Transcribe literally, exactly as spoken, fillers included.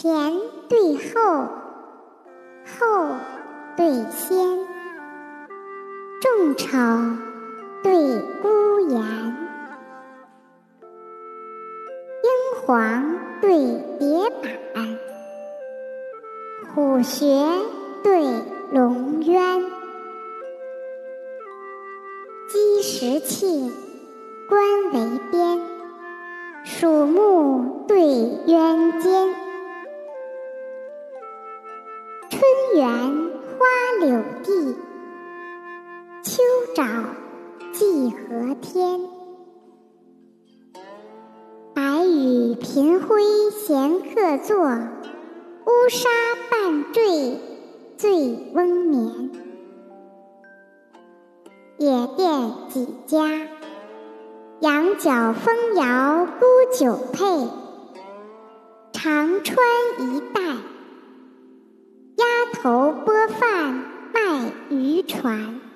前对后，后对先，众丑对孤颜，英皇对蝶板，虎穴对龙渊，鸡食磬，官为边，鼠目对渊间。春园花柳地，秋沼荠荷天。白羽频辉闲客坐，乌纱半坠醉翁眠。野店几家，羊角风摇沽酒配。长川一带，鸭头拨饭卖渔船。